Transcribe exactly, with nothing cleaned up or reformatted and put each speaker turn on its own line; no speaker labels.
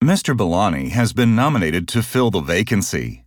Mister Bellani has been nominated to fill the vacancy.